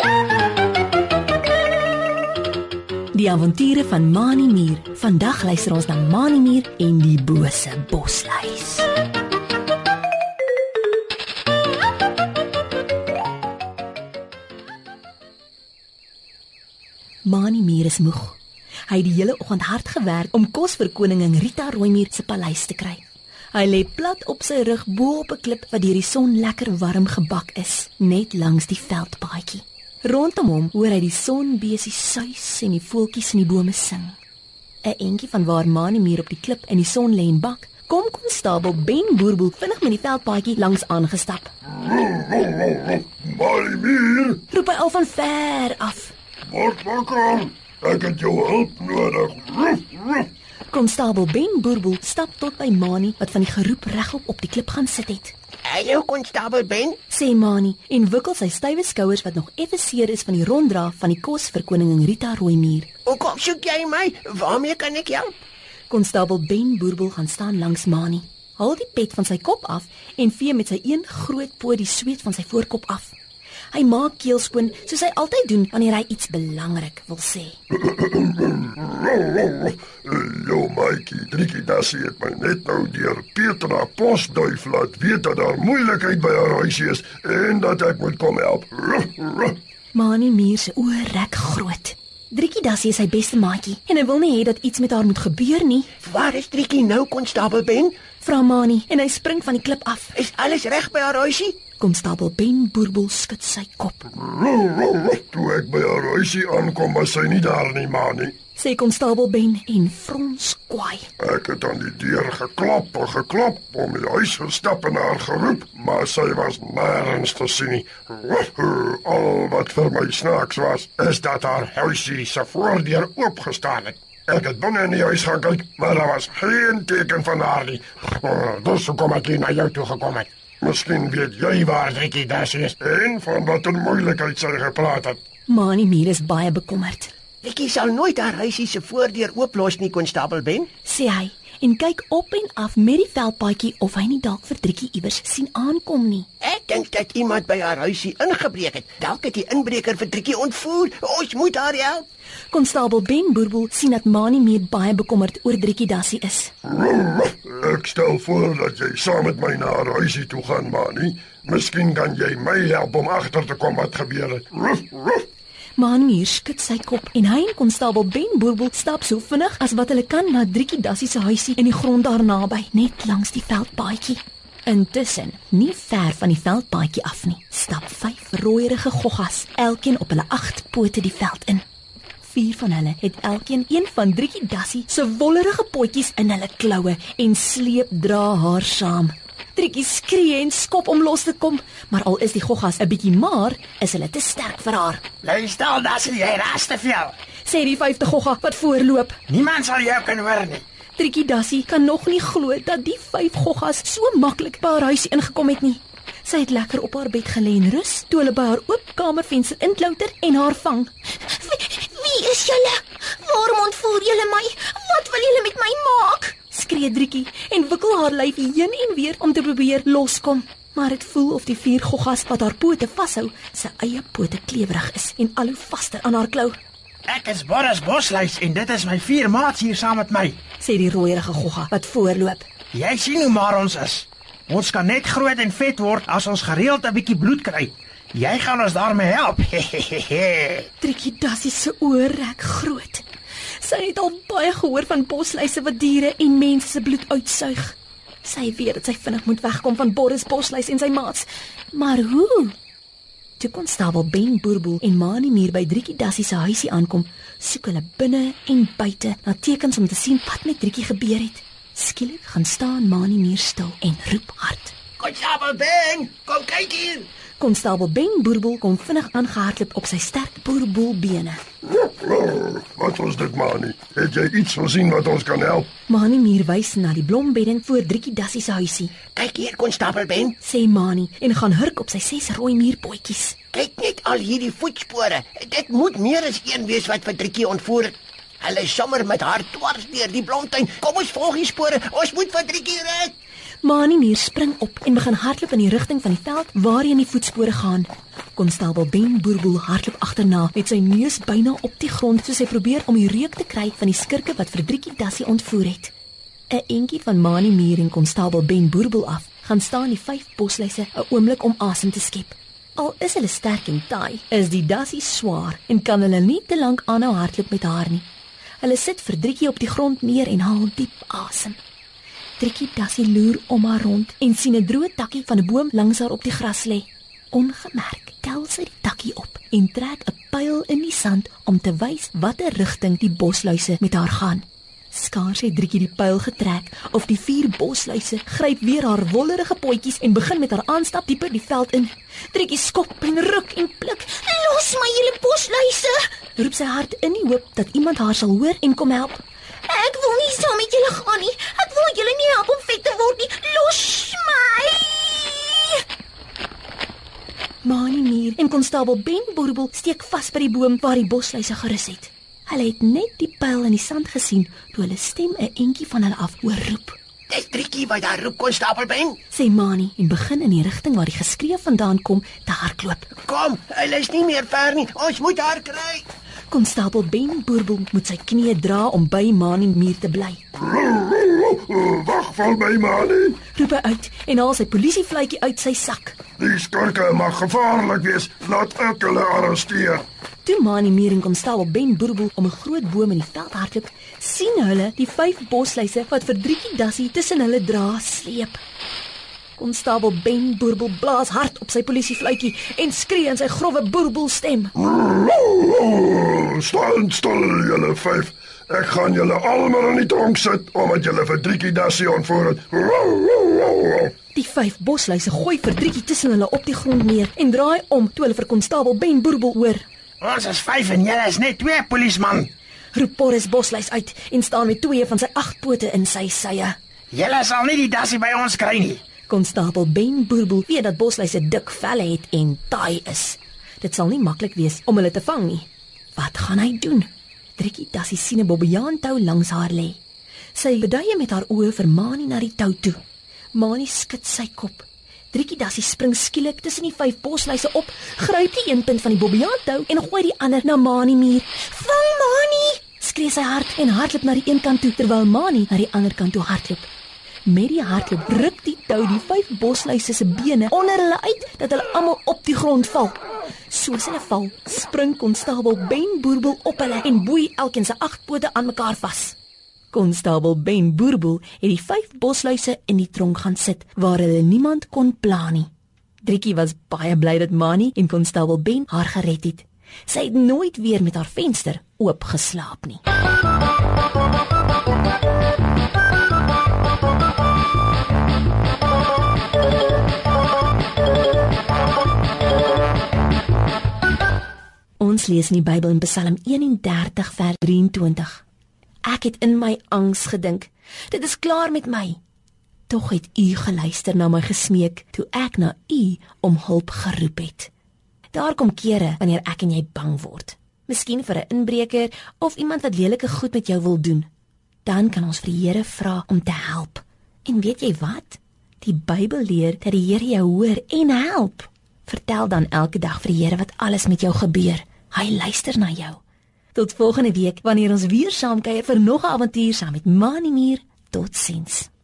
Die avonture van Mani Mier. Vandag luister ons na Mani Mier en die bose bosluis. Mani Mier is moeg. Hy het die hele oggend hard gewerk om kos vir koningin Rita Rooimier se paleis te kry. Hy lê plat op sy rug bo op 'n klip wat deur die son lekker warm gebak is, net langs die veldpaadjie. Rondom hom hoor hy die sonbesies suis en die voeltjies in die bome sing. 'n Entjie van waar Mani Mier op die klip in die son lê en bak, kom konstabel Ben Boerboel vinnig met die veldpaadjie langs aangestap. Mani Mier, Roep hy al van ver af. word wakker. Ek het jou hulp nodig. Konstabel Ben Boerboel stap tot by Mani wat van die geroep regop op die klip gaan sit het. Hallo, konstabel Ben. Sê Mani en wikkel sy stywe skouers wat nog effe seer is van die ronddra van die kos vir koningin Rita Rooimier. Hoekom soek jy my? Waarmee kan ek help? Konstabel Ben Boerboel gaan staan langs Mani. Haal die pet van sy kop af en vee met sy een groot poot die sweet van sy voorkop af. Hy maak keel skoon soos hy altyd doen wanneer hy iets belangrik wil sê. Jou maatjie, Driekie Dassie het my net nou deur Petra Posduif laat weet dat daar moeilikheid by haar huisie is en dat ek moet kom help. Mani Mier se oë rek groot. Driekie Dassie is sy beste maatjie en hy wil nie hê dat iets met haar moet gebeur nie. Waar is Driekie nou, konstabel Ben? Vra Mani en hy spring van die klip af. Is alles reg by haar huisie? Konstabel Ben Boerboel skud sy kop. Toe ek by haar huisie aankom, was sy nie daar nie, Mani. Sê konstabel Ben en frons kwaai. Ek het aan die deur geklop om die huis gestap en haar geroep, maar sy was nêrens te sien nie. Al wat vir my snaaks was, is dat haar huisie se voordeur oopgestaan het. Ek het binne in die huis gaan kyk, maar daar was geen teken van haar nie. Dus hoekom ek hier na jou toe gekom het. Miskien weet jy waar Driekie Dassie is en van wat 'n moeilikheid sy gepraat het. Mani Mier is baie bekommerd, Driekie sal nooit haar huisie se voordeur ooplos nie, konstabel Ben. sê hy en kyk op en af met die veldpaadjie of hy nie dalk vir Driekie iewers sien aankom nie. Ek dink dat iemand by haar huisie ingebreek het. Dalk het die inbreker vir Driekie ontvoer. Ons moet haar help. Konstabel Ben Boerboel sien dat Mani Mier baie bekommerd oor Driekie Dassie is. Ek stel voor dat jy saam met my na haar huisie toe gaan, Mani. Miskien kan jy my help om agter te kom wat gebeur het. Mani Mier skud sy kop en hy en konstabel Ben Boerboel stap so vinnig as wat hulle kan na Driekie Dassie se huisie in die grond daar naby, net langs die veldpaadjie. Intussen, nie ver van die veldpaadjie af nie, stap 5 rooierige goggas, elkeen op hulle 8 pote die veld in. 4 van hulle het elkeen een van Driekie Dassie se wollerige potjies in hulle kloue en sleep dra haar saam. Driekie skree en skop om los te kom, maar al is die goggas 'n bietjie maar, is hulle te sterk vir haar. Luister, Dassie, jy raas te veel. Sê die 5de gogga wat voorloop. Niemand sal jou kan hoor nie. Driekie Dassie kan nog nie glo dat die 5 goggas so maklik by haar huis ingekom het nie. Sy het lekker op haar bed gelê en rus toe hulle by haar oop kamervenster inklouter en haar vang. Wie is julle? Waarom ontvoer julle my? Wat wil julle met my maak? Skree Driekie en wikkel haar lyf heen en weer om te probeer loskom. Maar dit voel of die 4 goggas wat haar pote vashou, sy eie pote klewerig is en al hoe vaster aan haar klou. Ek is Boris Bosluis en dit is my 4 maats hier saam met my. Sê die rooierige gogga wat voorloop. Jy sien hoe maar ons is. Ons kan net groot en vet word as ons gereeld 'n bietjie bloed kry. Jy gaan ons daarmee help. Driekie Dassie se oë rek groot. Sy het al baie gehoor van bosluise wat diere en mense se bloed uitsuig. Sy weet dat sy vinnig moet wegkom van Boris Bosluis en sy maats. Maar hoe? Toe konstabel Ben Boerboel en Mani Mier by Driekie Dassie se huisie aankom, soek hulle binne en buite na tekens om te sien wat met Driekie gebeur het. Skielik gaan staan Mani Mier stil en roep hard. Konstabel Ben, kom kyk hier. Konstabel Ben Boerboel kom vinnig aangehardloop op sy sterk boerboelbene. Wat was dit, Mani? Het jy iets gesien wat ons kan help? Mani Mier wys na die blombedding voor Driekie Dassie se huisie. Kyk hier, konstabel Ben. Sê Mani en gaan hurk op sy 6 rooi muurpotjies. Kyk net al hierdie voetspore. Dit moet meer as een wees wat vir Driekie ontvoer het. Hulle is sommer met haar dwars deur die blomtuin. Kom ons volg die spore. Ons moet vir Driekie red. Maanie spring op en begin hardloop in die rigting van die veld waarheen die voetspore gaan. Konstabel Ben Boerboel hardloop agterna met sy neus byna op die grond soos hy probeer om die reuk te kry van die skurke wat vir Driekie Dassie ontvoer het. 'n Entjie van Maanie en konstabel Ben Boerboel af gaan staan die 5 bosluise 'n oomblik om asem te skep. Al is hulle sterk en taai, is die Dassie swaar en kan hulle nie te lank aanhou hardloop met haar nie. Hulle sit vir Driekie op die grond neer en haal diep asem. Driekie Dassie loer om haar rond en sien 'n droë takkie van 'n boom langs haar op die gras lê. Ongemerk tel sy die takkie op en trek 'n pyl in die sand om te wys watter rigting die bosluise met haar gaan. Skaars het Driekie die pyl getrek of die 4 bosluise gryp weer haar wollerige potjies en begin met haar aanstap dieper die veld in. Driekie skop en ruk en pluk. Los my julle bosluise! Roep sy hard in die hoop dat iemand haar sal hoor en kom help. Ek wil nie saam met julle gaan nie. Ek wil julle nie help om vet te word nie. Los my! Maanie en konstabel Ben Boerboel steek vas by die boom waar die bosluise gerus het. Hulle het net die pyl in die sand gesien toe hulle stem 'n entjie van hulle af oorroep. Dis Driekie wat daar roep, konstabel Ben. Sê Maanie en begin in die rigting waar die geskree vandaan kom te hardloop. Kom, hulle is nie meer ver nie. Ons moet haar kry. Konstabel Ben Boerboel moet sy knieë dra om by Maanie te bly. Wag val by Maanie. Roep hy uit en haal sy polisievluitjie uit sy sak. Die skurke mag gevaarlik wees. Laat ek hulle arresteer. Toe Maanie en konstabel Ben Boerboel om 'n groot boom in die veld hardloop, sien hulle die 5 bosluise wat vir Driekie Dassie tussen hulle dra sleep. Konstabel Ben Boerboel blaas hard op sy polisiefluitjie en skree in sy growwe boerboelstem. Staan stil julle 5. Ek gaan julle almal in die tronk sit omdat julle vir Driekie Dassie ontvoer het. Die 5 bosluise gooi vir Driekie tussen hulle op die grond neer en draai om toe hulle vir konstabel Ben Boerboel hoor. Ons is 5 en julle is net 2 polisman. Roep Boris Bosluis uit en staan met 2 van sy 8 pote in sy sye. Julle sal nie die Dassie by ons kry nie. Konstabel Ben Boerboel weet dat bosluise dik velle het en taai is. Dit sal nie maklik wees om hulle te vang nie. Wat gaan hy doen? Driekie Dassie sien 'n bobbejaantou langs haar lê. Sy beduie met haar oë vir Maanie na die tou toe. Maanie skud sy kop. Driekie Dassie spring skielik tussen die 5 bosluise op, gryp die een punt van die bobbejaantou en gooi die ander na Maanie. Vang Maanie! Skree sy hard en hardloop na die een kant toe terwyl Maanie na die ander kant toe hardloop. Met die hardloop ruk die tou die 5 bosluise se bene onder hulle uit dat hulle almal op die grond val. Soos hulle val, spring konstabel Ben Boerboel op hulle en boei elkeen se 8 pote aan mekaar vas. Konstabel Ben Boerboel het die 5 bosluise in die tronk gaan sit waar hulle niemand kon pla nie. Driekie was baie bly dat Maanie en konstabel Ben haar gered het. Sy het nooit weer met haar venster oop geslaap nie. Ons lees in die Bybel in Psalm 31 vers 23. Ek het in my angs gedink, dit is klaar met my. Tog het U geluister na my gesmeek, toe ek na U om hulp geroep het. Daar kom kere wanneer ek en jy bang word. Miskien vir 'n inbreker of iemand wat lelike goed met jou wil doen. Dan kan ons vir die Here vra om te help. En weet jy wat? Die Bybel leer dat die Here jou hoor en help. Vertel dan elke dag vir die Here wat alles met jou gebeur. Hy luister na jou. Tot volgende week wanneer ons weer saam kuier vir nog 'n avontuur saam met Maanie. Totsiens.